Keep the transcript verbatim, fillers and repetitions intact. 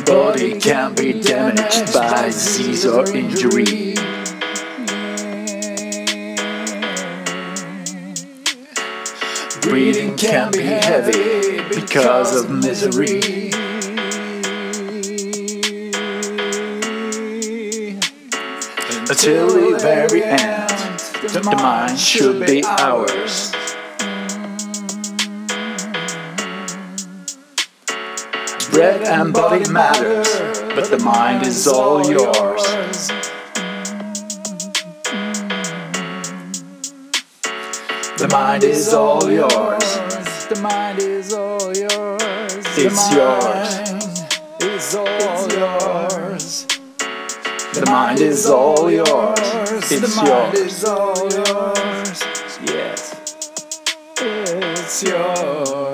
body can be damaged by disease or injury. Breathing can be heavy because of misery. Until the very end, the mind should be ours. Bread and body matter, but the mind is all yours. The mind is all yours. The mind is all yours. It's yours. It's all yours. The mind is all yours. The It's mind yours. is all yours. Yes. It's yours.